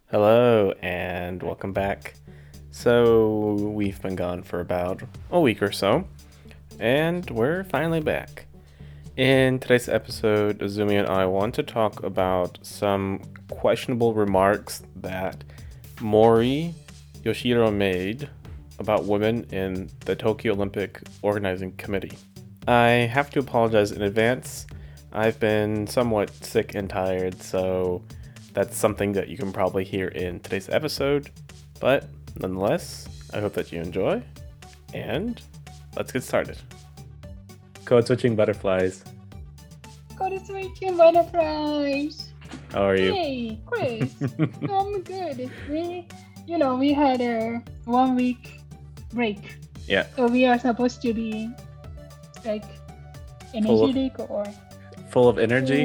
Hello and welcome back. So, we've been gone for about a week or so, and we're finally back. In today's episode, Azumi and I want to talk about some questionable remarks that Mori Yoshiro made about women in the Tokyo Olympic Organizing Committee. I have to apologize in advance. I've been somewhat sick and tired, so that's something that you can probably hear in today's episode. But nonetheless, I hope that you enjoy, and let's get started. Code switching butterflies. Code switching butterflies. How are you? Hey, Chris. I'm good. We had a 1 week break. Yeah. So we are supposed to be like energetic or full of energy.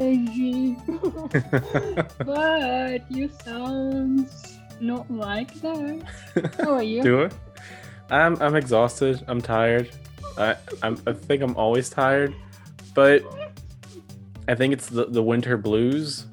But you sound not like that. How are you? Do I? I'm exhausted. I'm tired. I think I'm always tired, but I think it's the winter blues,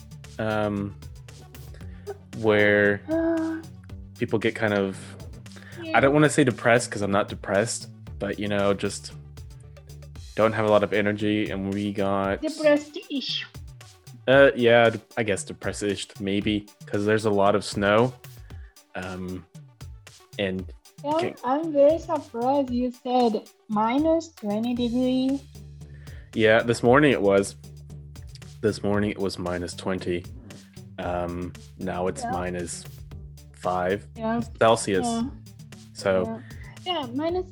where people get kind of. Yeah. I don't want to say depressed because I'm not depressed, but just don't have a lot of energy, and we got depressed-ish. Yeah, I guess depressed-ish maybe because there's a lot of snow, and. Yeah, I'm very surprised you said minus 20 degrees. Yeah, this morning it was. This morning it was minus 20. Now it's minus 5 Celsius. Yeah. So. Yeah,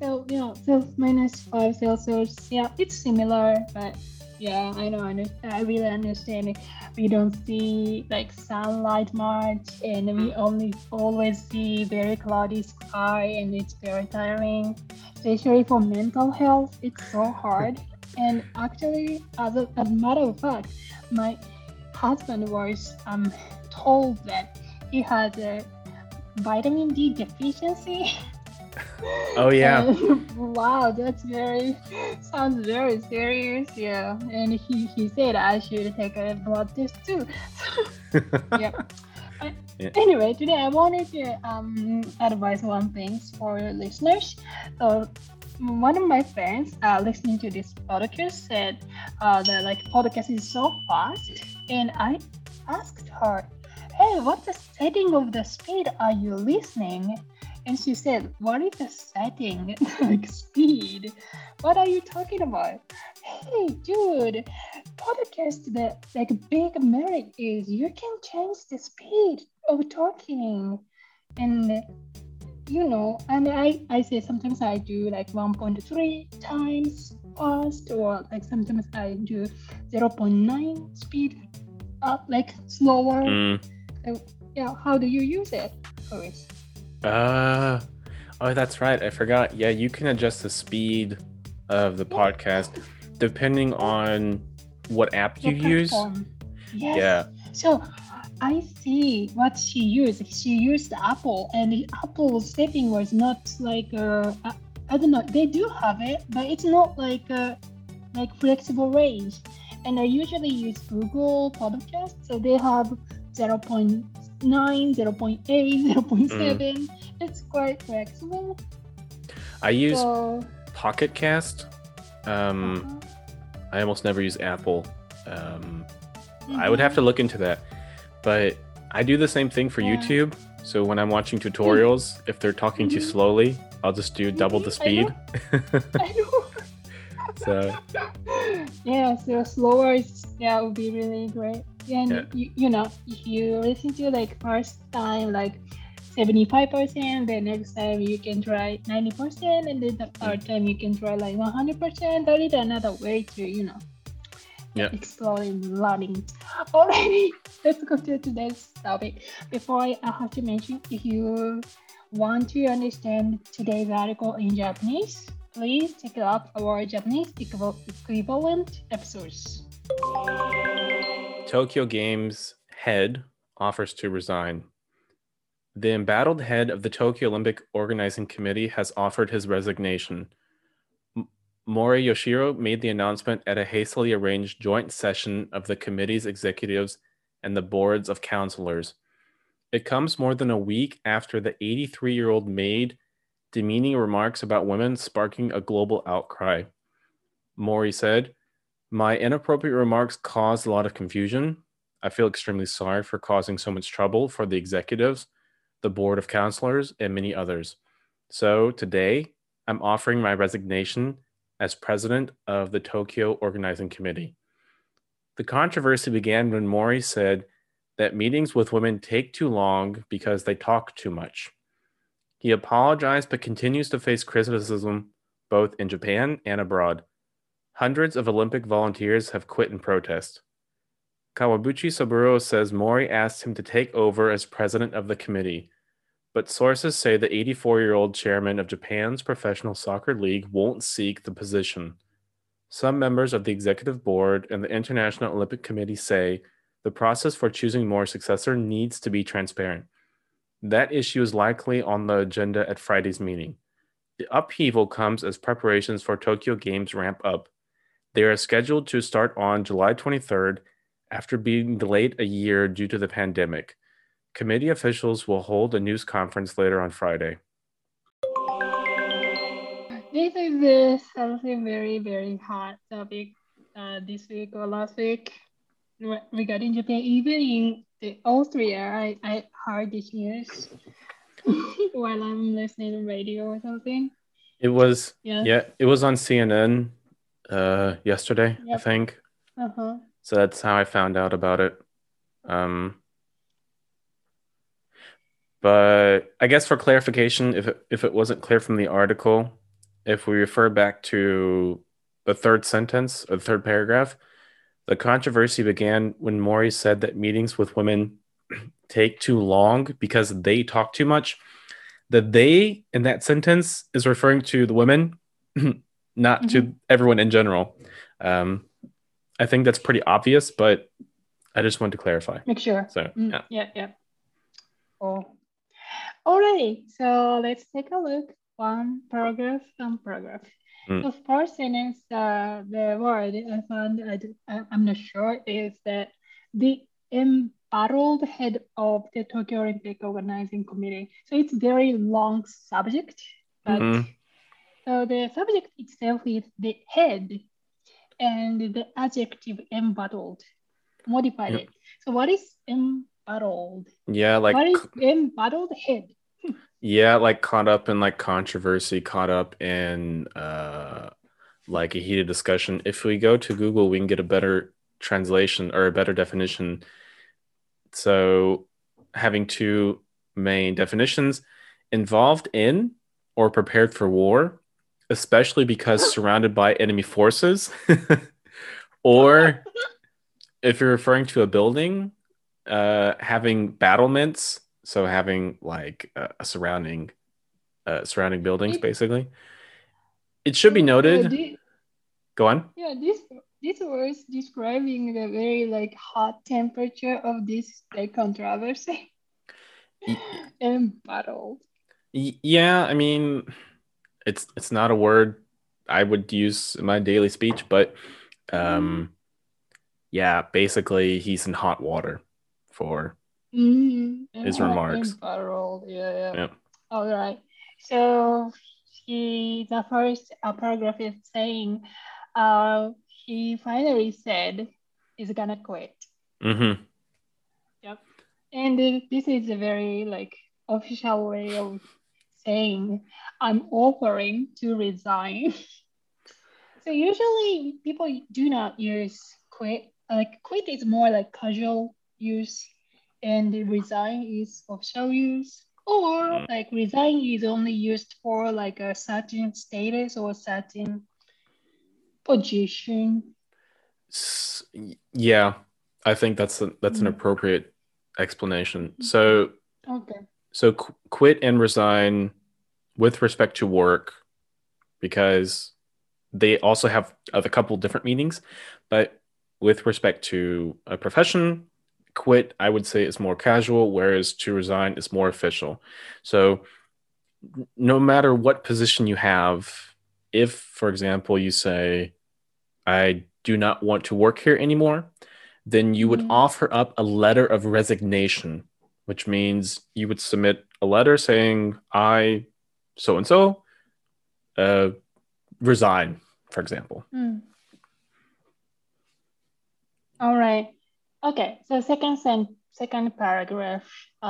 minus 5 Celsius. Yeah, it's similar, but yeah, I know. I really understand it. We don't see like sunlight much, and we always see very cloudy sky, and it's very tiring, especially for mental health. It's so hard. And actually, as a matter of fact, my husband was told that he has a vitamin D deficiency. Oh yeah. Wow, sounds very serious. Yeah, and he said I should take a blood test too. Yeah. Anyway, today I wanted to advise one thing for listeners. So one of my friends listening to this podcast said that like podcast is so fast, and I asked her, "Hey, what's the setting of the speed are you listening?" And she said, "What is the setting? Like speed? What are you talking about?" Hey, dude, podcast, the like big merit is you can change the speed of talking. And and I say sometimes I do like 1.3 times fast, or like sometimes I do 0.9 speed up, like slower. So, yeah, how do you use it, Chris? Oh, that's right. I forgot. Yeah, you can adjust the speed of the podcast depending on what app you use. Yes. Yeah. So I see what she used. She used Apple, and the Apple setting was not like I don't know. They do have it, but it's not like flexible range. And I usually use Google Podcast, so they have 0.9, 0.8, 0.7. It's quite flexible. I use Pocket Cast. I almost never use Apple. I would have to look into that. But I do the same thing for YouTube. So when I'm watching tutorials, if they're talking too slowly, I'll just do double the speed. I know. So yeah, so slower would be really great. And if you listen to like first time like 75%, the next time you can try 90%, and then the third time you can try like 100%. That is another way to exploring learning. Alrighty, let's go to today's topic. Before I have to mention, if you want to understand today's article in Japanese, please check out our Japanese equivalent episodes. Tokyo Games head offers to resign. The embattled head of the Tokyo Olympic Organizing Committee has offered his resignation. Mori Yoshiro made the announcement at a hastily arranged joint session of the committee's executives and the boards of counselors. It comes more than a week after the 83-year-old made demeaning remarks about women, sparking a global outcry. Mori said, "My inappropriate remarks caused a lot of confusion. I feel extremely sorry for causing so much trouble for the executives, the board of counselors, and many others. So today, I'm offering my resignation as president of the Tokyo Organizing Committee." The controversy began when Mori said that meetings with women take too long because they talk too much. He apologized but continues to face criticism both in Japan and abroad. Hundreds of Olympic volunteers have quit in protest. Kawabuchi Saburo says Mori asked him to take over as president of the committee, but sources say the 84-year-old chairman of Japan's professional soccer league won't seek the position. Some members of the executive board and the International Olympic Committee say the process for choosing Mori's successor needs to be transparent. That issue is likely on the agenda at Friday's meeting. The upheaval comes as preparations for Tokyo Games ramp up. They are scheduled to start on July 23rd after being delayed a year due to the pandemic. Committee officials will hold a news conference later on Friday. This is something very, very hot topic this week or last week regarding Japan. Even in Austria, I heard this news while I'm listening to radio or something. It was it was on CNN yesterday, I think. So that's how I found out about it. But I guess for clarification, if it wasn't clear from the article, if we refer back to the third sentence or the third paragraph, the controversy began when Mori said that meetings with women take too long because they talk too much. The they in that sentence is referring to the women, not to everyone in general. I think that's pretty obvious, but I just wanted to clarify. Make sure. So yeah. Oh. Alright, so let's take a look. One paragraph. The first sentence, the word I found, I'm not sure, is that the embattled head of the Tokyo Olympic Organizing Committee. So it's very long subject, but so the subject itself is the head, and the adjective embattled, modified it. So what is embattled? Yeah, like what is embattled head? Yeah, like caught up in like controversy, caught up in like a heated discussion. If we go to Google, we can get a better translation or a better definition. So having two main definitions: involved in or prepared for war, especially because surrounded by enemy forces. Or if you're referring to a building, having battlements, so having like a surrounding buildings, basically. It should be noted. Go on. Yeah, this was describing the very like hot temperature of this like controversy. Embattled. Yeah, I mean, it's not a word I would use in my daily speech, but yeah, basically he's in hot water for his remarks. Embattled. Yeah. All right. So the first paragraph is saying, he finally said he's gonna quit. Yep. And this is a very like official way of saying I'm offering to resign. So usually people do not use quit. Like quit is more like casual use, and resign is official use. Or like resign is only used for like a certain status or certain position. Yeah, I think that's an appropriate explanation. So quit and resign with respect to work, because they also have a couple different meanings, but with respect to a profession, quit, I would say, is more casual, whereas to resign is more official. So no matter what position you have, if, for example, you say, I do not want to work here anymore, then you would offer up a letter of resignation which means you would submit a letter saying, I, so and so, resign, for example. All right. Okay. So second paragraph.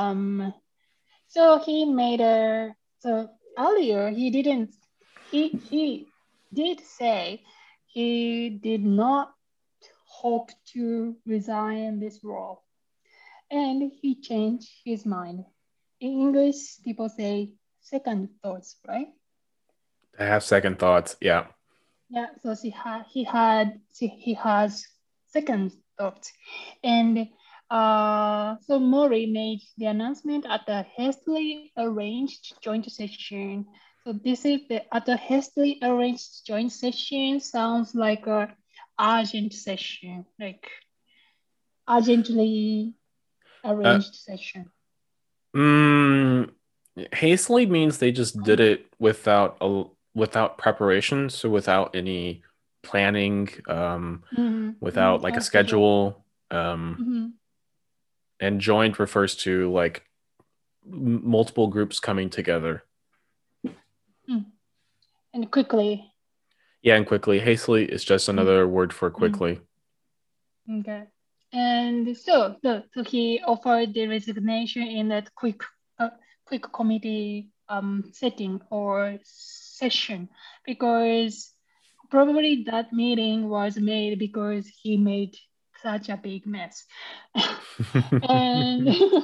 So he made a. So earlier he didn't. He did say he did not hope to resign this role, and he changed his mind. In English, people say second thoughts, right? I have second thoughts. Yeah. Yeah. So he has second thoughts, and so Mori made the announcement at the hastily arranged joint session. So this is at the hastily arranged joint session sounds like a urgent session, like urgently arranged session. Hastily means they just did it without preparation, so without any planning, without like a schedule. And joint refers to like multiple groups coming together. And quickly. Yeah, and quickly. Hastily is just another word for quickly. Okay. And so he offered the resignation in that quick committee setting or session, because probably that meeting was made because he made such a big mess. and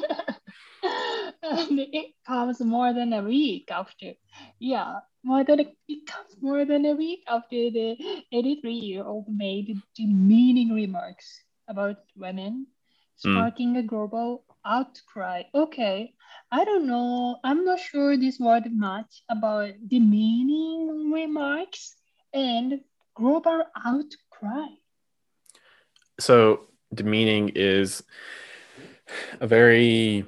and it comes more than a week after. Yeah, it comes more than a week after the 83-year-old made demeaning remarks about women, sparking a global outcry. Okay, I don't know. I'm not sure this word much about demeaning remarks and global outcry. So demeaning is a very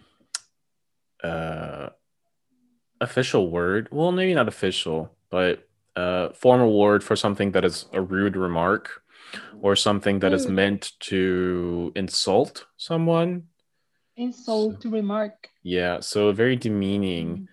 official word. Well, maybe not official, but formal word for something that is a rude remark or something that is meant to insult someone. Insult remark. Yeah, so very demeaning.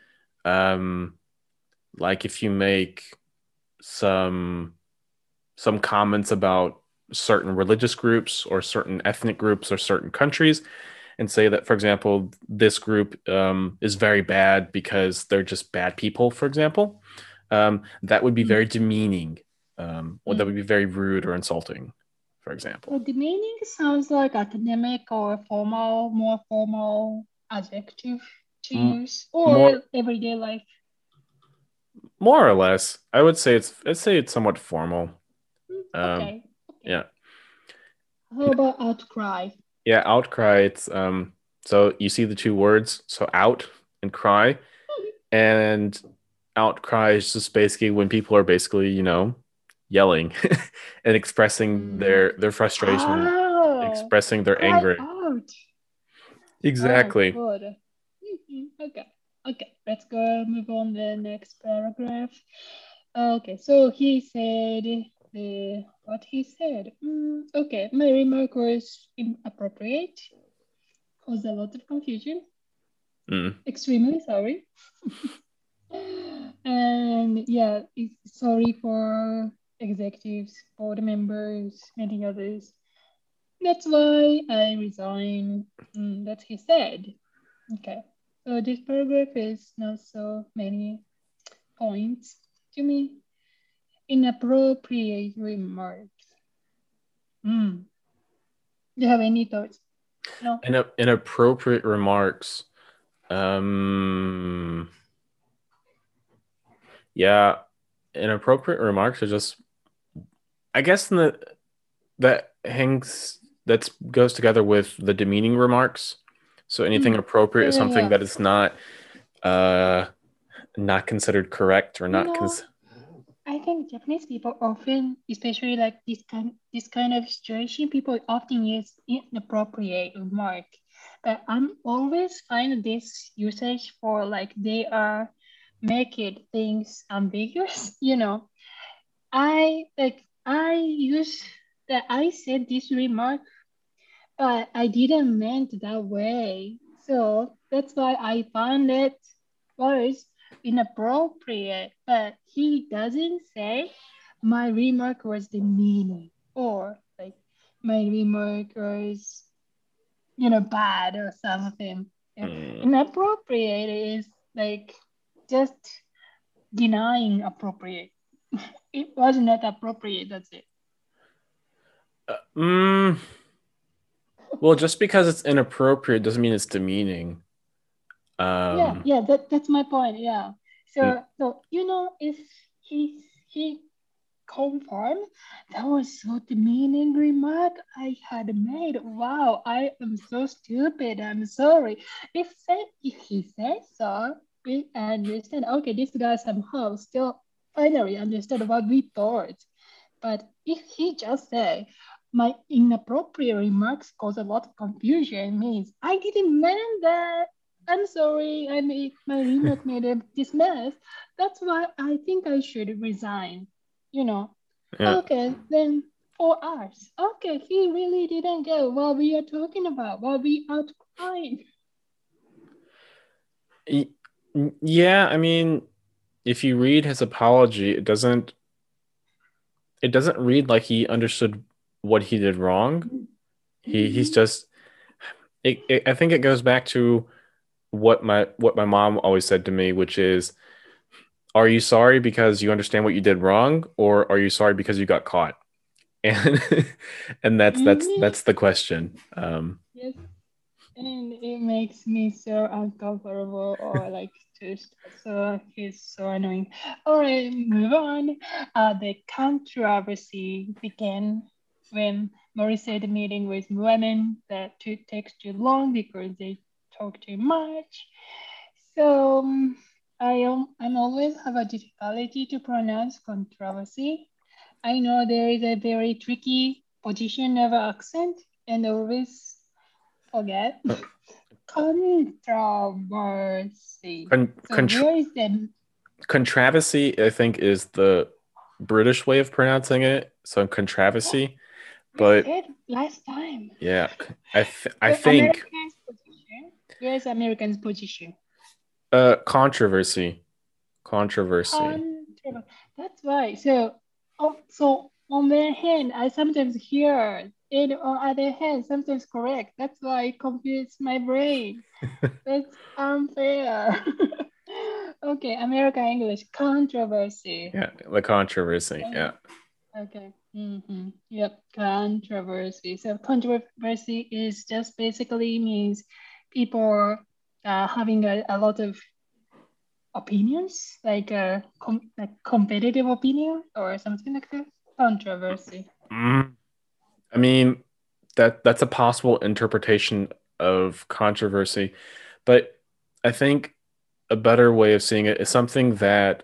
Like if you make some comments about certain religious groups or certain ethnic groups or certain countries and say that, for example, this group is very bad because they're just bad people, for example, that would be very demeaning, or that would be very rude or insulting, for example. So demeaning sounds like academic or formal, more formal adjective to use, or everyday life. More or less, I'd say it's somewhat formal. Okay. Yeah. How about outcry? Yeah, outcry. It's so you see the two words, so out and cry, and outcry is just basically when people are basically, yelling and expressing their frustration, expressing their anger. Out. Exactly. Oh, good. Okay. Let's go move on the next paragraph. Okay, so he said what he said. Okay, my remark was inappropriate, caused a lot of confusion. Extremely sorry. And yeah, sorry for executives, board members, many others. That's why I resign. That he said. Okay, so this paragraph is not so many points to me. Inappropriate remarks. Do you have any thoughts? No. Inappropriate remarks. Yeah, inappropriate remarks are just, I guess, that goes together with the demeaning remarks. So anything appropriate is something that is not considered correct or not. I think Japanese people often, especially like this kind of situation, people often use inappropriate remark. But I'm always find this usage for like they are making things ambiguous. I use that I said this remark, but I didn't meant that way. So That's why I found it was inappropriate. But he doesn't say my remark was demeaning or like my remark was, bad or something. Inappropriate is like just denying appropriate. It was not appropriate. That's it. Well, just because it's inappropriate doesn't mean it's demeaning. Yeah, that's my point. Yeah. So if he confirmed that was so demeaning remark I had made. Wow, I am so stupid. I'm sorry. If he says so, we understand. Okay, this guy somehow still finally understood what we thought. But if he just say my inappropriate remarks cause a lot of confusion means I didn't mean that. I'm sorry, my remark made this mess. That's why I think I should resign. Yeah. Okay, then 4 hours. Okay, he really didn't get what we are talking about, what we are crying. Yeah, I mean, if you read his apology, it doesn't read like he understood what he did wrong. He's just I think it goes back to what my mom always said to me, which is, are you sorry because you understand what you did wrong, or are you sorry because you got caught? And and that's the question. Yes, and it makes me so uncomfortable or like just so he's so annoying. All right, move on. The controversy began when Mori said the meeting with women that takes too long because they talk too much. So I'm always have a difficulty to pronounce controversy. I know there is a very tricky position of accent and always forget. Controversy. So where is the controversy? I think is the British way of pronouncing it. So controversy, but I said last time. Yeah, I think American's position. Where's American's position? Controversy. That's right. So on one hand, I sometimes hear, and on other hand, sometimes correct. That's why it confuses my brain. That's unfair. Okay, American English controversy. Yeah, the controversy. Yeah. Okay. Yep, controversy. So controversy is just basically means people having a lot of opinions, like like competitive opinion or something like that. Controversy. I mean, that's a possible interpretation of controversy, but I think a better way of seeing it is something that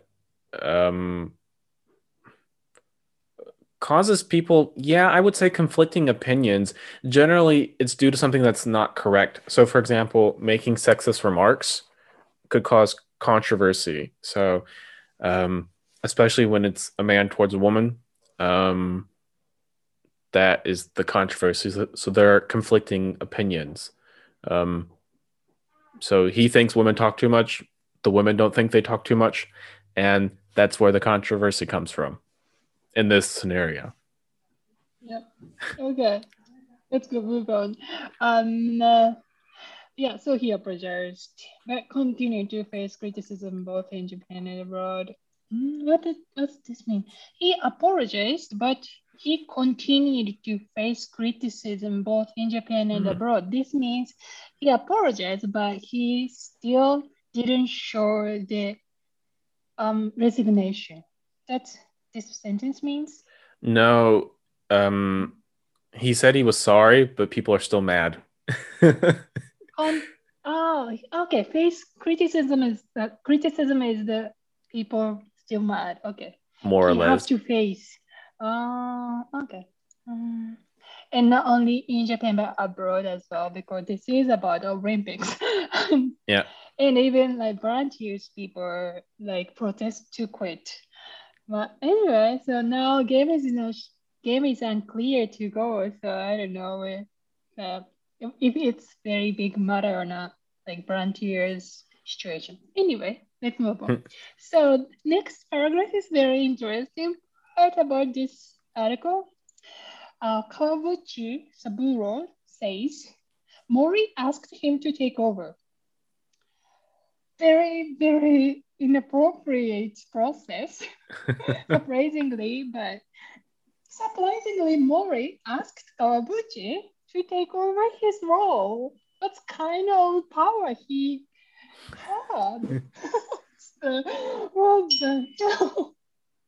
causes people, yeah, I would say conflicting opinions. Generally, it's due to something that's not correct. So, for example, making sexist remarks could cause controversy. So, especially when it's a man towards a woman, that is the controversy. So there are conflicting opinions. So he thinks women talk too much. The women don't think they talk too much. And that's where the controversy comes from in this scenario. Yep. Okay. Let's go move on. Yeah, so he apologized, but continued to face criticism both in Japan and abroad. What does this mean? He apologized, but he continued to face criticism both in Japan and abroad. This means he apologized, but he still didn't show the resignation. That's this sentence means? No, he said he was sorry, but people are still mad. Oh, okay. Face criticism is the people still mad. Okay. More or You have less. to face. Okay. And not only in Japan but abroad as well, because this is about Olympics. Yeah. And even like volunteers, people like protest to quit. But anyway, so now game is unclear to go. So I don't know if it's very big matter or not. like volunteers situation. Anyway, let's move on. So next paragraph is very interesting part about this article. Kawaguchi Saburo says Mori asked him to take over. Very, very inappropriate process, surprisingly, but surprisingly, Mori asked Kawaguchi to take over his role. What kind of power he had? What the hell?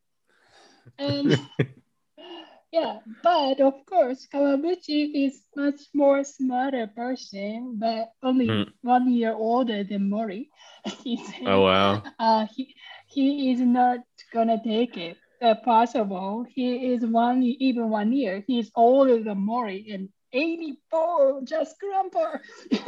And yeah, but of course, Kawaguchi is much more smarter person, but only 1 year older than Mori. He said, Oh, wow. He is not gonna take it. Possible. He is even 1 year. He's older than Mori and 84, just grandpa.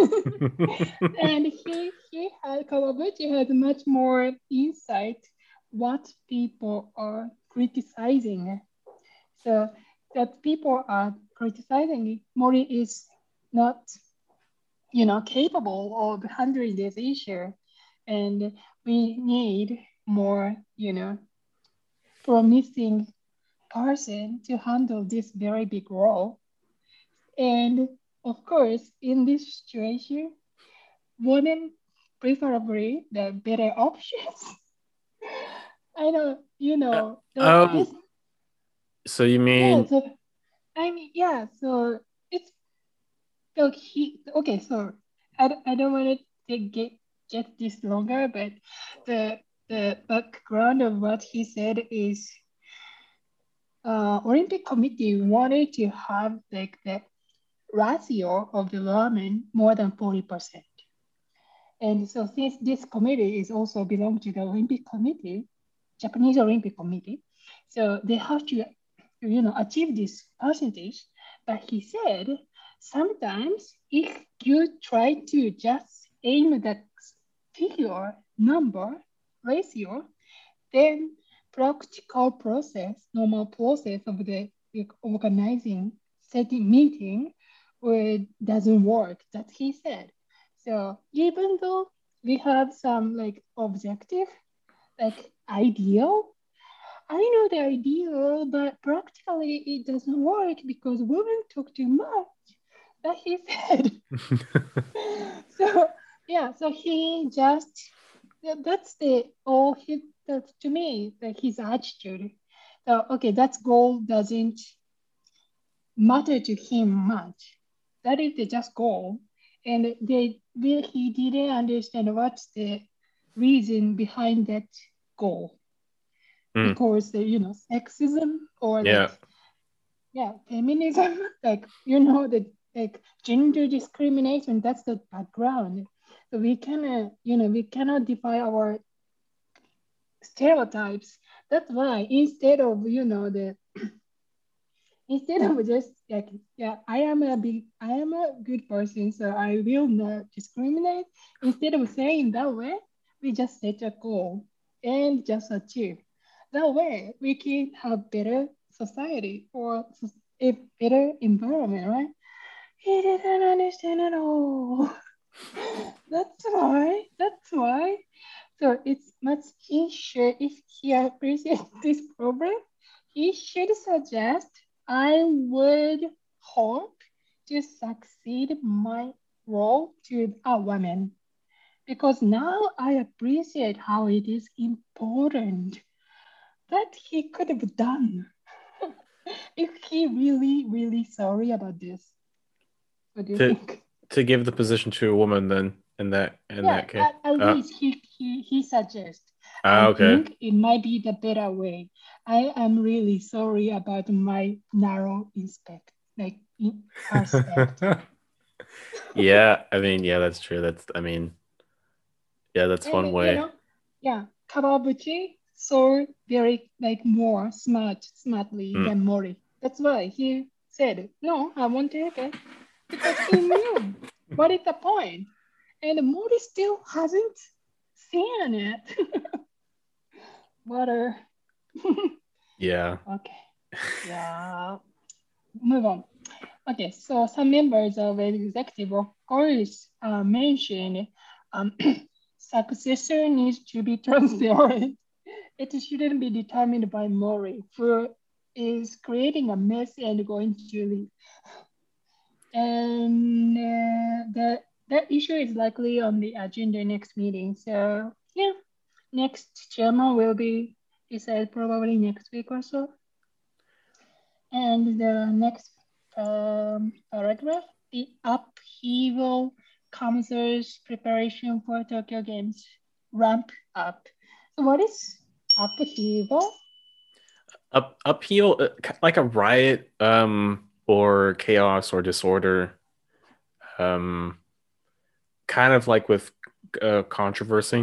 And Kawaguchi has much more insight what people are criticizing. So that people are criticizing Mori is not, capable of handling this issue, and we need more, promising person to handle this very big role. And of course, in this situation, women preferably the better options. I know, this. So you Yeah, mean... so I mean, yeah, so it's so okay, so I don't want to get this longer, but the background of what he said is Olympic Committee wanted to have like the ratio of the women more than 40%. And so since this committee is also belong to the Olympic Committee, Japanese Olympic Committee, so they have to, achieve this percentage. But he said, sometimes if you try to just aim the figure, number, ratio, then practical process, normal process of the organizing, setting meeting, doesn't work. That he said. So even though we have some like objective, like ideal, I know the ideal, but practically it doesn't work because women talk too much. That he said. So yeah, so he just that's the all he that's to me like his attitude. So okay, that goal doesn't matter to him much. That is the just goal. And he didn't understand what's the reason behind that goal. Because the sexism or Yeah. feminism, the like gender discrimination, that's the background. So we cannot defy our stereotypes. That's why instead of just like, yeah, I am a good person, so I will not discriminate. Instead of saying that way, we just set a goal and just achieve. That way, we can have better society or a better environment, right? He didn't understand at all. That's why. That's why. So it's much easier if he appreciates this problem. He should suggest I would hope to succeed my role to a woman because now I appreciate how it is important that he could have done if he really, really sorry about this. What do you think? To give the position to a woman then in that case. At least he suggests. I Okay. think it might be the better way. I am really sorry about my narrow perspective. Yeah, I mean, yeah, that's true. That's And one way. Kawabuchi saw very more smartly than Mori. That's why he said, "No, I won't take it," because he knew what is the point. And Mori still hasn't seen it. Water. Yeah. Okay. Yeah. Move on. Okay, so some members of the executive, of course, mentioned um, successor needs to be transparent. It shouldn't be determined by Mori, who is creating a mess and going to leave. And that issue is likely on the agenda next meeting. So yeah, next chairman will be decided probably next week or so. And the next paragraph, the upheaval comes as preparation for Tokyo Games ramp up. So what is upheaval? Upheaval, like a riot, or chaos or disorder, um, kind of like with controversy.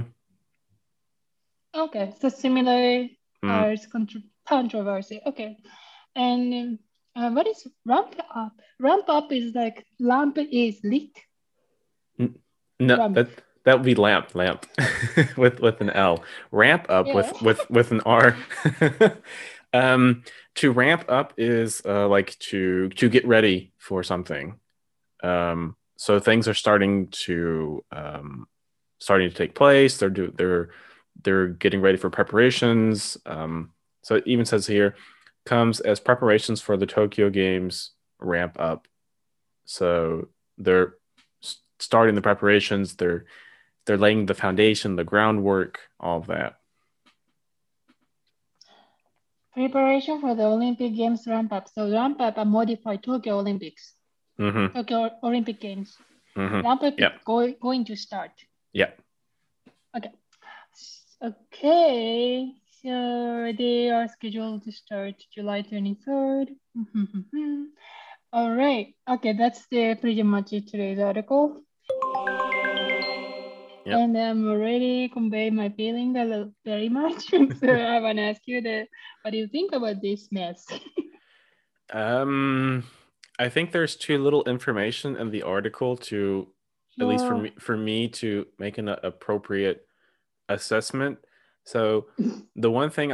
Okay, so similar Mm. as controversy. Okay, and what is ramp up? Ramp up is like lamp is lit. No, Ramp. that would be lamp with an L. Ramp up Yeah. with an R. um, to ramp up is like to get ready for something. So things are starting to take place. They're getting ready for preparations. So it even says here comes as preparations for the Tokyo Games ramp up. So they're starting the preparations. They're laying the foundation, the groundwork, all of that. Preparation for the Olympic Games ramp up. So ramp up and modify Tokyo Olympics. Mm-hmm. Tokyo Olympic Games. Mm-hmm. Ramp up is Yep. going to start. Yep. Okay. Okay. So they are scheduled to start July 23rd. All right. Okay, that's pretty much it today's article. Yep. And I'm already convey my feeling very much. So I want to ask you what do you think about this mess? I think there's too little information in the article to, at least Sure. for me to make an appropriate assessment. So the one thing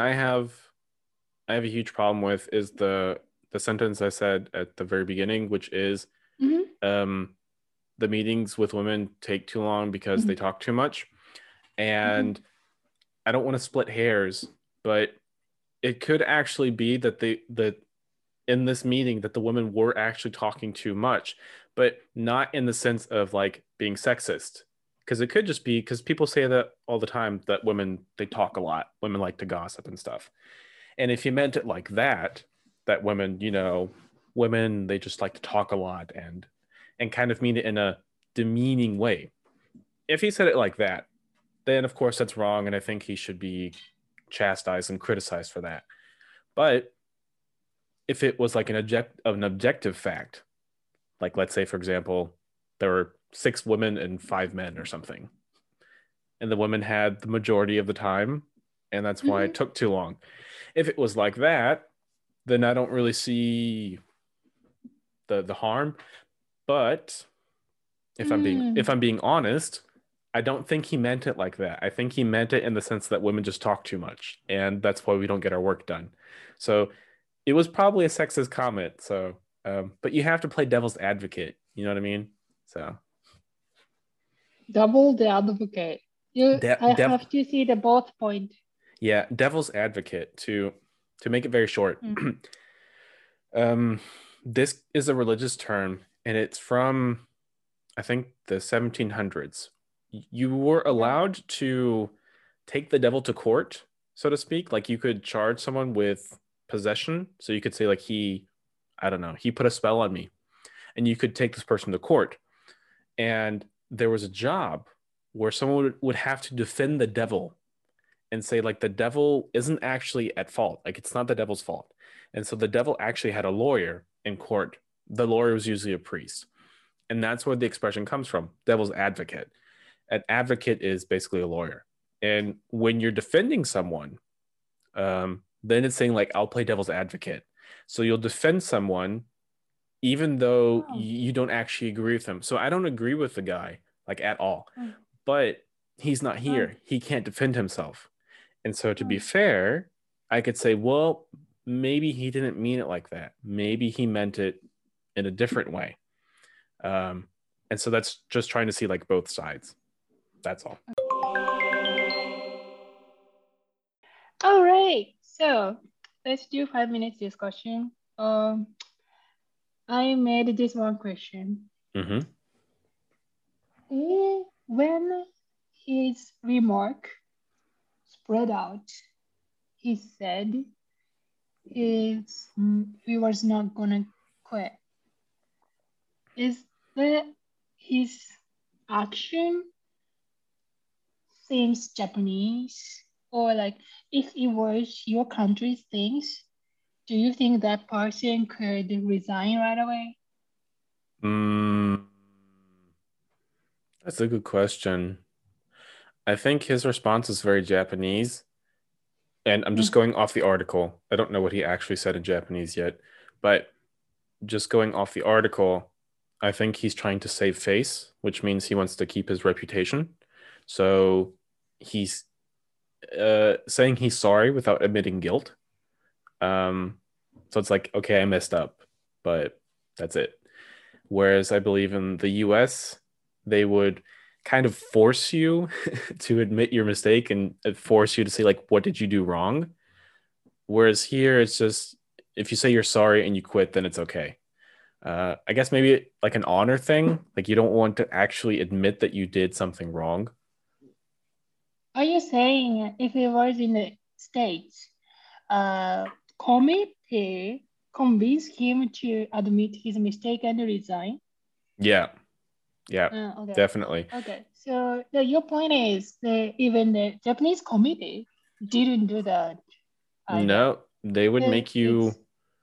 I have a huge problem with is the sentence I said at the very beginning, which is Mhm. um the meetings with women take too long because they Mhm. talk too much. Mhm. And I don't want to split hairs, but it could actually be that that in this meeting that the women were actually talking too much, but not in the sense of like being sexist. Because it could just be because people say that all the time that women they talk a lot, women like to gossip and stuff. And if you meant it like that, that women, women they just like to talk a lot and kind of mean it in a demeaning way. If he said it like that, then of course that's wrong, and I think he should be chastised and criticized for that. But if it was like an objective fact, like let's say for example, there were 6 women and 5 men or something, and the women had the majority of the time, and that's why it Mhm. took too long. If it was like that, then I don't really see the harm. But if Mm. I'm being honest, I don't think he meant it like that. I think he meant it in the sense that women just talk too much, and that's why we don't get our work done. So it was probably a sexist comment. So, but you have to play devil's advocate. You know what I mean? So, Double the advocate. de- I dev, have to see the both point. yeah, devil's advocate to make it very short. Mm. um, this is a religious term, and it's from I think the 1700s. You were Yeah. allowed to take the devil to court, so to speak. Like you could charge someone with possession. So you could say like I don't know, he put a spell on me, and you could take this person to court. And there was a job where someone would have to defend the devil and say like the devil isn't actually at fault. Like it's not the devil's fault. And so the devil actually had a lawyer in court. The lawyer was usually a priest. And that's where the expression comes from, devil's advocate. An advocate is basically a lawyer. And when you're defending someone, then it's saying like I'll play devil's advocate. So you'll defend someone even though Oh. you don't actually agree with them. So I don't agree with the guy like at all, Mm. but he's not Mm. here. He can't defend himself. And so to be Mm. fair, I could say, well, maybe he didn't mean it like that. Maybe he meant it in a different way. And so that's just trying to see like both sides. That's all. All right. So let's do 5 minutes discussion. I made this one question. Mm-hmm. When his remark spread out, he said he was not gonna quit. Is that his action seems Japanese? Or like if it was your country's things, do you think that person could resign right away? That's a good question. I think his response is very Japanese, and I'm just Mm. going off the article. I don't know what he actually said in Japanese yet, but just going off the article, I think he's trying to save face, which means he wants to keep his reputation. So he's saying he's sorry without admitting guilt. Um, so it's like, okay, I messed up, but that's it. Whereas I believe in the US, they would kind of force you to admit your mistake and force you to say, like, what did you do wrong? Whereas here, it's just if you say you're sorry and you quit, then it's okay. I guess maybe like an honor thing, like you don't want to actually admit that you did something wrong. Are you saying if it was in the States, committee convinced him to admit his mistake and resign? Yeah, yeah, Okay. definitely. Okay. So your point is that even the Japanese committee didn't do that either. No, they would make you It's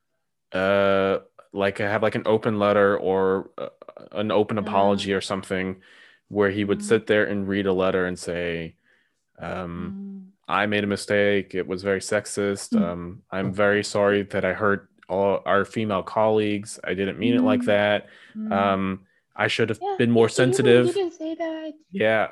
like have like an open letter or an open apology uh, or something where he would mm, sit there and read a letter and say, um, mm, I made a mistake. It was very sexist. mm, I'm very sorry that I hurt all our female colleagues. I didn't mean it like mm, that. mm. Um, I should have Yeah, been more he even sensitive. didn't say that. Yeah.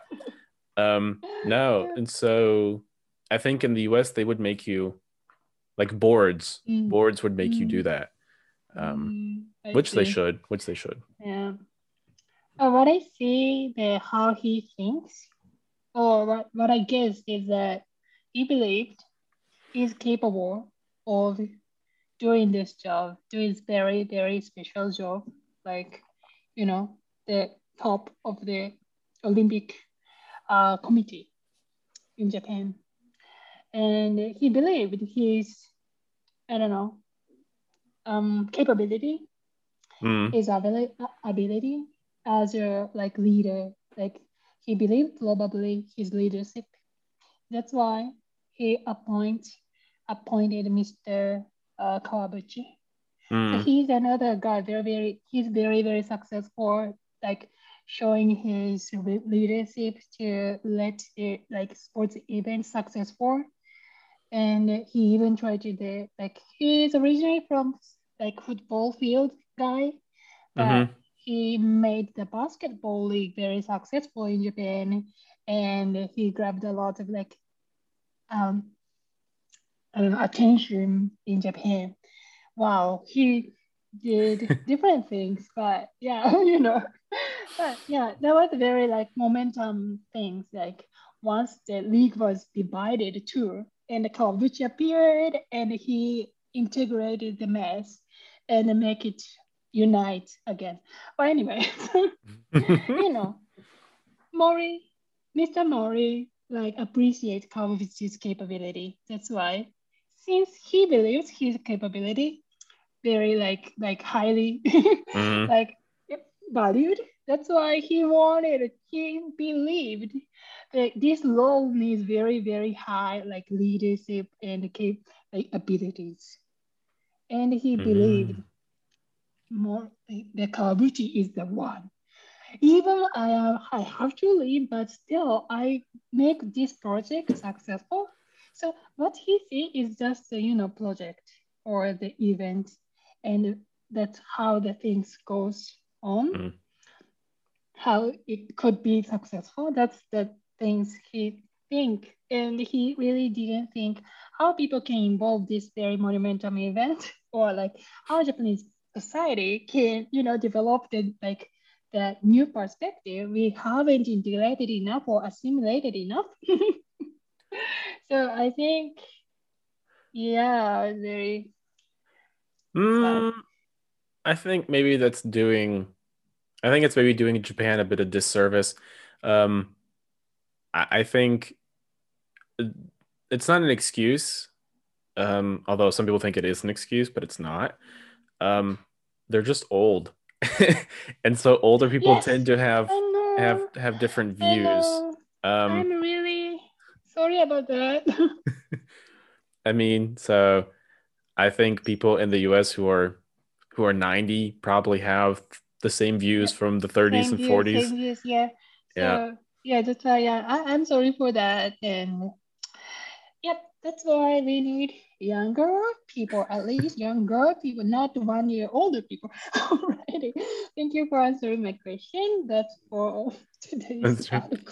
No. Yeah. And so I think in the US they would make you like boards. Mm, Boards would make you do mm, that. Um, I which they see. should, which they should. Yeah. What I see, the how he thinks, or what I guess is that he believed he's capable of doing this job, doing this very, very special job, like, the top of the Olympic committee in Japan. And he believed his, I don't know, capability, Mm, his ability as a like leader, like he believed probably his leadership. That's why he appointed Mr. Kawabuchi. So mm, he's another guy, he's very, very successful, like showing his leadership to let the like sports events successful. And he even tried to do like he's originally from like football field guy, but mm-hmm, he made the basketball league very successful in Japan, and he grabbed a lot of like um attention in Japan. Wow, he did different things, but yeah, but yeah, that was very like momentum things. Like once the league was divided too, and the Kawaguchi appeared, and he integrated the mess and make it unite again. But anyway, you know, Mori, Mr. Mori, like appreciate Kawaguchi's capability. That's why, since he believes his capability, very like highly mm-hmm, like valued. That's why he believed that this role needs very, very high like leadership and like abilities. And he believed mm-hmm. more that Kawaguchi is the one. Even I have to leave, but still I make this project successful. So what he see is just the project or the event, and that's how the things goes on. How it could be successful. That's the things he think, and he really didn't think how people can involve this very monumental event or like how Japanese society can, develop that new perspective, we haven't integrated enough or assimilated enough. So I think, yeah, very sad. I think maybe that's doing. I think it's maybe doing Japan a bit of disservice. Um, I think it's not an excuse, although some people think it is an excuse, but it's not. Um, they're just old, and so older people Yes, tend to have I have know. have different I views. know. Um, I'm really sorry about that. I mean, so I think people in the US who are 90 probably have the same views Yep. from the 30s and 40s. Same views, yeah. Yeah. So yeah, that's why, yeah, I'm sorry for that. And yep, that's why we need younger people, at least younger people, not 1 year older people. Alrighty. Thank you for answering my question. That's for today's That's right. article.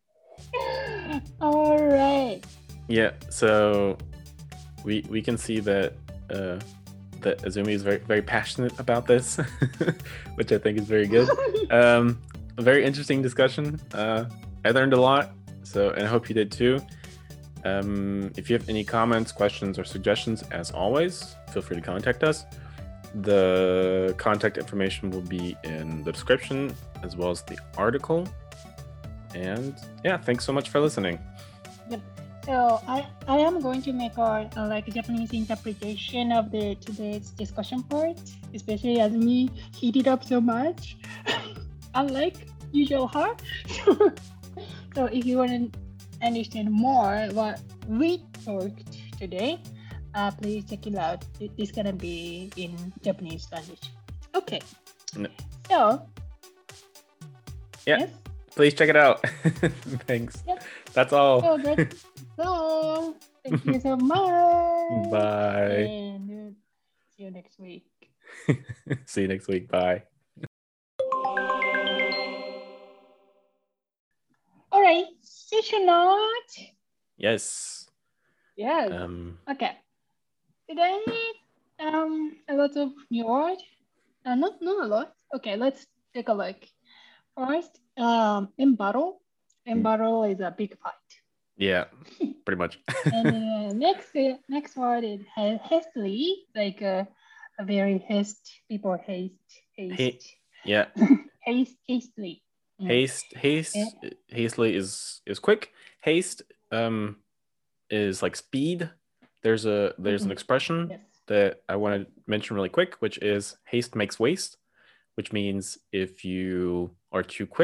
All right. Yeah, so we can see that that Azumi is very very passionate about this, which I think is very good. A very interesting discussion. I learned a lot, so and I hope you did too. If you have any comments, questions, or suggestions, as always, feel free to contact us. The contact information will be in the description as well as the article. And yeah, thanks so much for listening. Yep. So I am going to make a Japanese interpretation of the today's discussion part, especially as me heated up so much, unlike usual her. So if you want to understand more what we talked today, please check it out. It's gonna be in Japanese language. Okay. No. So yeah. Yes? Please check it out. Thanks. Yep. That's all. So that's all. Thank you so much. Bye. And see you next week. See you next week. Bye. All right. Session note. Yes. Yes. Okay. Today, a lot of new word. Not a lot. Okay, let's take a look. First, embattle. Embattle is a big fight. Yeah, pretty much. And next word is hastily, like a very people haste. Yeah. Hastily. Hastily is quick. Haste is like speed. There's an expression Yes. that I want to mention really quick, which is haste makes waste, which means if you are too quick,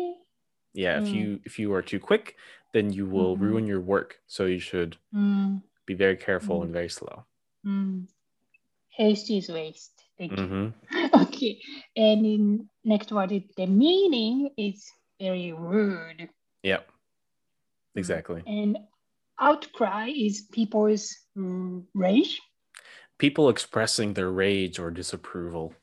if you are too quick, then you will ruin your work. So you should be very careful and very slow. Haste is waste. Thank you. Okay, and in next word, the meaning is very rude. Yep. Exactly. And outcry is people's rage. People expressing their rage or disapproval.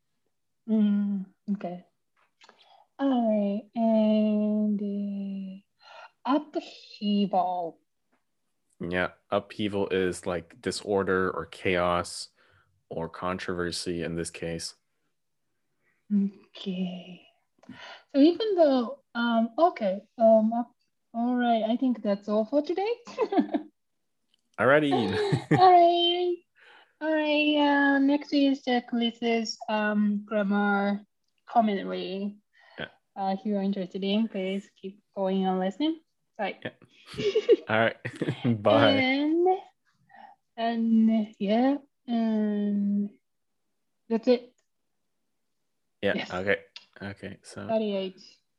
Okay. All right, and upheaval. Yeah, upheaval is like disorder or chaos or controversy in this case. Okay. So even though, okay, all right, I think that's all for today. Alrighty. All right. Next is Lisa's grammar commentary. Yeah. If you're interested in, please keep going and listening. Right. Yeah. All right. Bye. And yeah, and that's it. Yeah. Yes. Okay. So 38.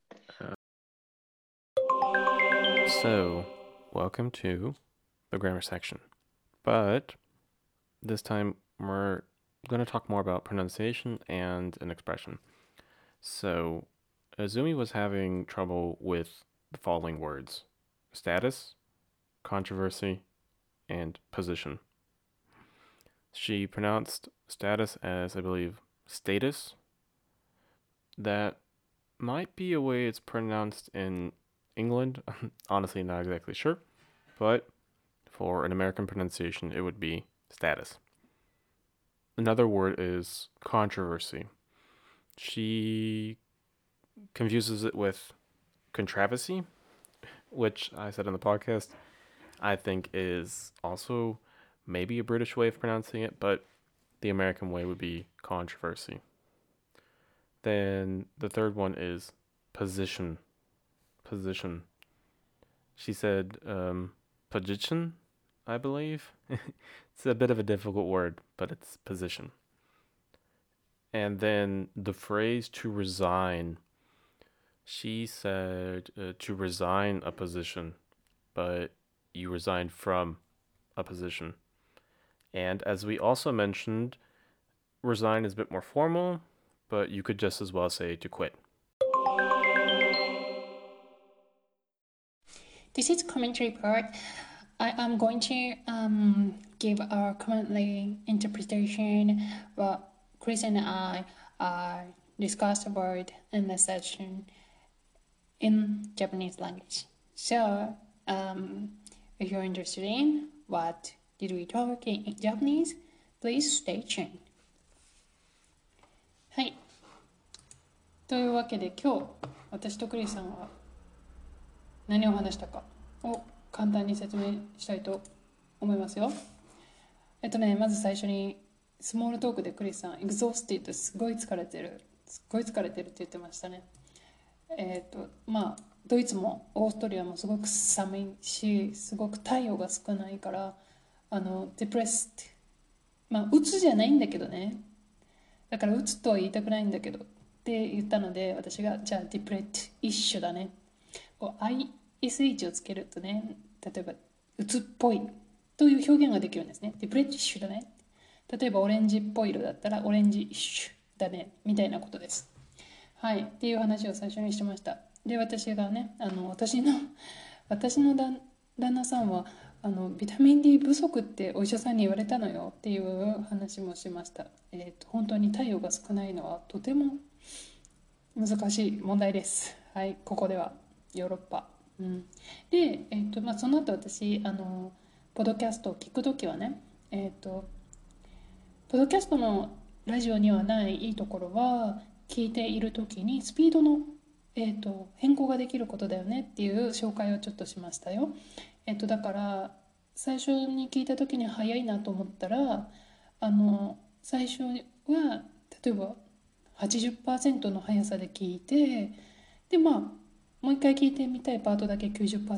So, welcome to the grammar section. But this time we're going to talk more about pronunciation and an expression. So, Azumi was having trouble with the following words: status, controversy, and position. She pronounced status as, I believe, status. That might be a way it's pronounced in England. Honestly, not exactly sure. But for an American pronunciation, it would be status. another word is controversy. She confuses it with controversy, which I said in the podcast, I think is also maybe a British way of pronouncing it, but the American way would be controversy. Then the third one is position. Position. She said position, I believe. It's a bit of a difficult word, but it's position. And then the phrase to resign. She said to resign a position, but you resign from a position. And as we also mentioned, resign is a bit more formal, but you could just as well say to quit. This is commentary part. I am going to give our currently interpretation what Chris and I discussed about in the session in Japanese language. So, if you're interested in what did we talk in Japanese, please stay tuned. はい。というわけで今日私とクリスさんは何を話したかを簡単に説明したいと思いますよ。まず最初にスモールトークでクリスさん、exhausted すごい疲れてるって言ってましたね。ドイツもオーストリアもすごく寒いし、すごく太陽が少ないから、depressed、うつじゃないんだけどね。だからうつとは言いたくないんだけどって言ったので、私がじゃあ depressed 一緒だね。ISH をつけるとね、例えばうつっぽいという表現ができるんですね。depressed 一緒だね。例えばオレンジっぽい色だったらオレンジ一緒だねみたいなことです。はい、っていう話を最初にしてました。で、私がね、私の旦那さんはビタミン D 不足ってお医者さんに言われたのよっていう話もしました。本当に太陽が少ないのはとても難しい問題です。はい、ここではヨーロッパ。で、その後私ポッドキャストを聞くときはね、ポッドキャストのラジオにはないいいところは、聞いているときにスピードの、変更ができることだよねっていう紹介をちょっとしましたよ。だから最初に聞いたときに早いなと思ったら、最初は例えば 80% の速さで聞いて、でもう一回聞いてみたいパートだけ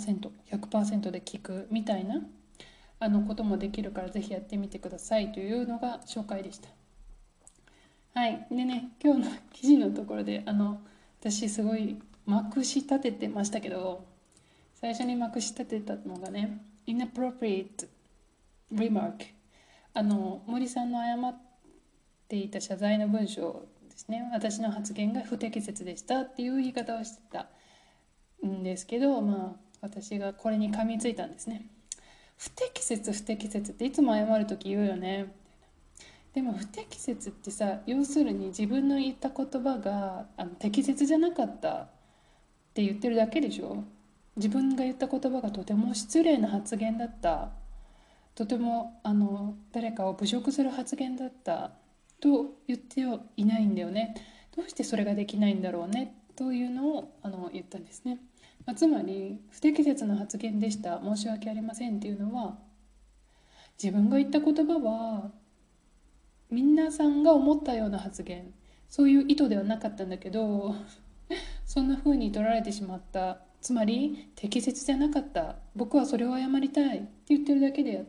90%、100% で聞くみたいなこともできるから、ぜひやってみてくださいというのが紹介でした。はい。でね、今日の記事のところで、私すごいまくし立ててましたけど、最初にまくし立てたのがね、inappropriate remark。森さんの謝っていた謝罪の文章ですね。私の発言が不適切でしたっていう言い方をしてたんですけど、私がこれに噛みついたんですね。不適切っていつも謝るとき言うよね。でも不適切ってさ、要するに自分の言った言葉が適切じゃなかったって言ってるだけでしょ。自分が言った言葉がとても失礼な発言だった、とても誰かを侮辱する発言だったと言ってはいないんだよね。どうしてそれができないんだろうねというのを言ったんですね。つまり不適切な発言でした、申し訳ありませんっていうのは、自分が言った言葉は皆さんが思ったような発言、そういう意図ではなかったんだけどそんな風に取られてしまった、つまり適切じゃなかった、僕はそれを謝りたいって言ってるだけであって、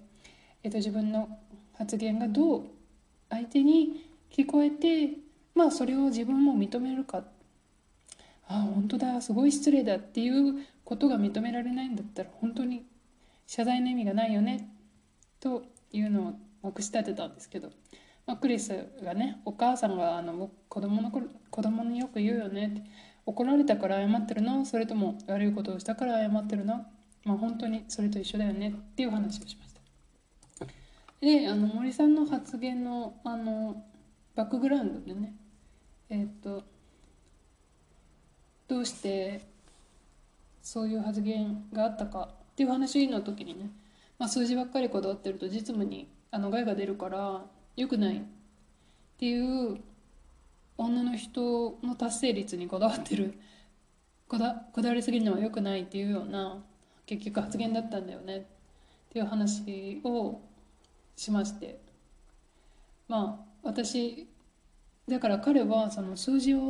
自分の発言がどう相手に聞こえて、それを自分も認めるか、本当だ、すごい失礼だっていうことが認められないんだったら、本当に謝罪の意味がないよねというのをまくし立てたんですけど、クリスがね、お母さんが子供によく言うよねって、怒られたから謝ってるの、それとも悪いことをしたから謝ってるの、本当にそれと一緒だよねっていう話をしました。で、森さんの発言のバックグラウンドでね、どうしてそういう発言があったかっていう話の時にね、数字ばっかりこだわってると実務に害が出るから、 良くないっていう女の人の達成率にこだわってる、こだわりすぎるのは良くないっていうような結局発言だったんだよねっていう話をしまして、まあ私だから彼はその数字を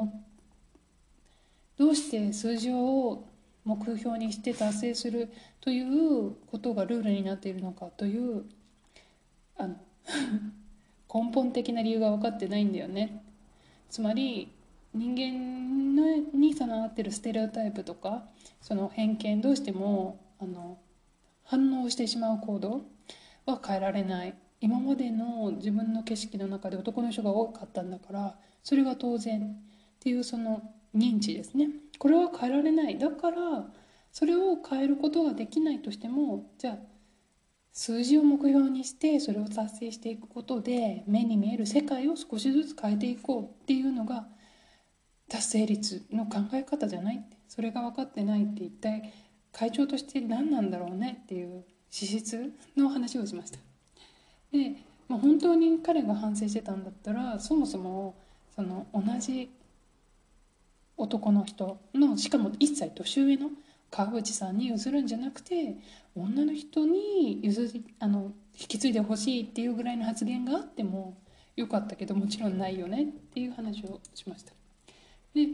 どうして数字を目標にして達成するということがルールになっているのかというあの根本的な理由が分かってないんだよね。つまり人間に備わってるステレオタイプとかその偏見、どうしても反応してしまう行動は変えられない。今までの自分の景色の中で男の人が多かったんだから、それが当然っていうその認知ですね。これは変えられない。だからそれを変えることができないとしても、じゃあ数字を目標にしてそれを達成していくことで目に見える世界を少しずつ変えていこうっていうのが達成率の考え方じゃない。それが分かってないって一体会長として何なんだろうねっていう資質の話をしました。で、本当に彼が反省してたんだったら、そもそもその同じ男の人の、しかも1歳年上の川淵さんに譲るんじゃなくて、女の人に引き継いでほしいっていうぐらいの発言があってもよかったけど、もちろんないよねっていう話をしました。で、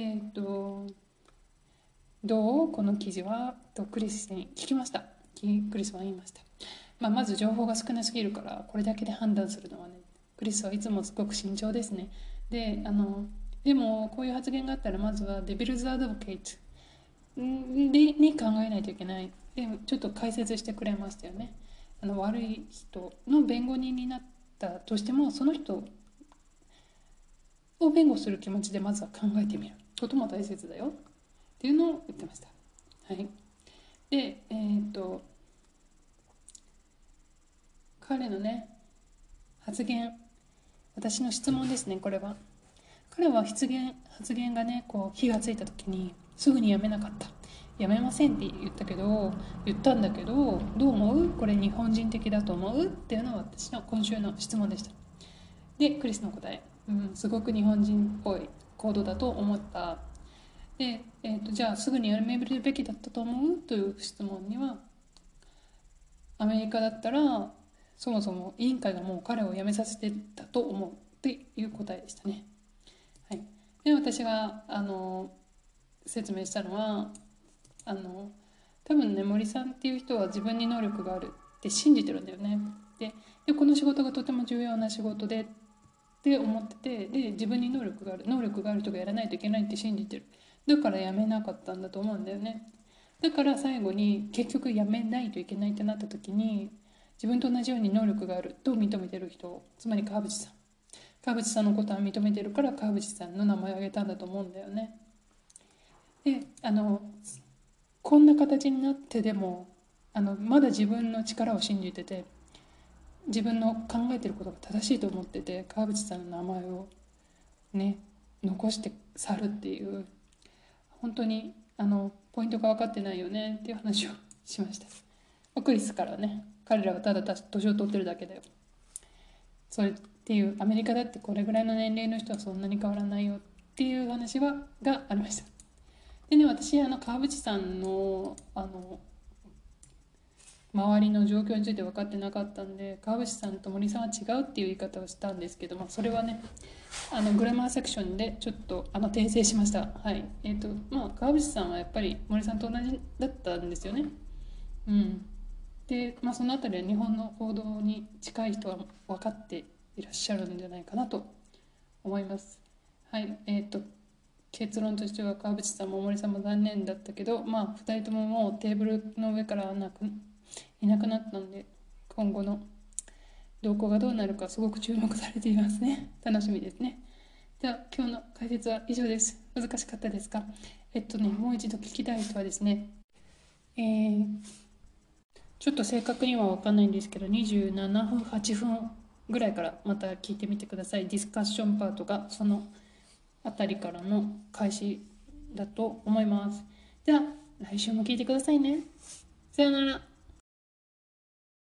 どうこの記事はとクリスに聞きました。クリスは言いました。まず情報が少なすぎるからこれだけで判断するのはね、クリスはいつもすごく慎重ですね。でもこういう発言があったらまずはデビルズ・アドボケイトに考えないといけない。でちょっと解説してくれましたよね。悪い人の弁護人になったとしても、その人を弁護する気持ちでまずは考えてみることも大切だよっていうのを言ってました。はい。で、彼のね発言、私の質問ですね。これは彼は発言がねこう火がついた時にすぐにやめなかった。やめませんって言ったんだけど、どう思う？これ日本人的だと思う？っていうのは私の今週の質問でした。でクリスの答え、すごく日本人っぽい行動だと思った。で、じゃあすぐにやめるべきだったと思う？という質問には、アメリカだったらそもそも委員会がもう彼を辞めさせてたと思うっていう答えでしたね。はい、で私が説明したのは多分ね、森さんっていう人は自分に能力があるって信じてるんだよね。でこの仕事がとても重要な仕事でって思ってて、で自分に能力がある人がやらないといけないって信じてる。だから辞めなかったんだと思うんだよね。だから最後に結局辞めないといけないってなった時に、自分と同じように能力があると認めてる人、つまり川淵さんのことは認めてるから川淵さんの名前を挙げたんだと思うんだよね。でこんな形になってでもまだ自分の力を信じてて、自分の考えてることが正しいと思ってて川淵さんの名前をね残して去るっていう、本当にポイントが分かってないよねっていう話をしました。クリスからね、彼らはただ年を取ってるだけだよ、それっていう、アメリカだってこれぐらいの年齢の人はそんなに変わらないよっていう話がありました。でね、私川淵さんの周りの状況について分かってなかったんで、川淵さんと森さんは違うっていう言い方をしたんですけど、それはねグラマーセクションでちょっと訂正しました。はい。川淵さんはやっぱり森さんと同じだったんですよね。で、そのあたりは日本の報道に近い人は分かっていらっしゃるんじゃないかなと思います。はい。結論としては川淵さんも森さんも残念だったけど、2人とももうテーブルの上からいなくなったので、今後の動向がどうなるかすごく注目されていますね。楽しみですね。では今日の解説は以上です。難しかったですか？もう一度聞きたい人はですね、ちょっと正確には分かんないんですけど、27分8分ぐらいからまた聞いてみてください。ディスカッションパートがそのあたりからの開始だと思います。では来週も聞いてくださいね。さよなら。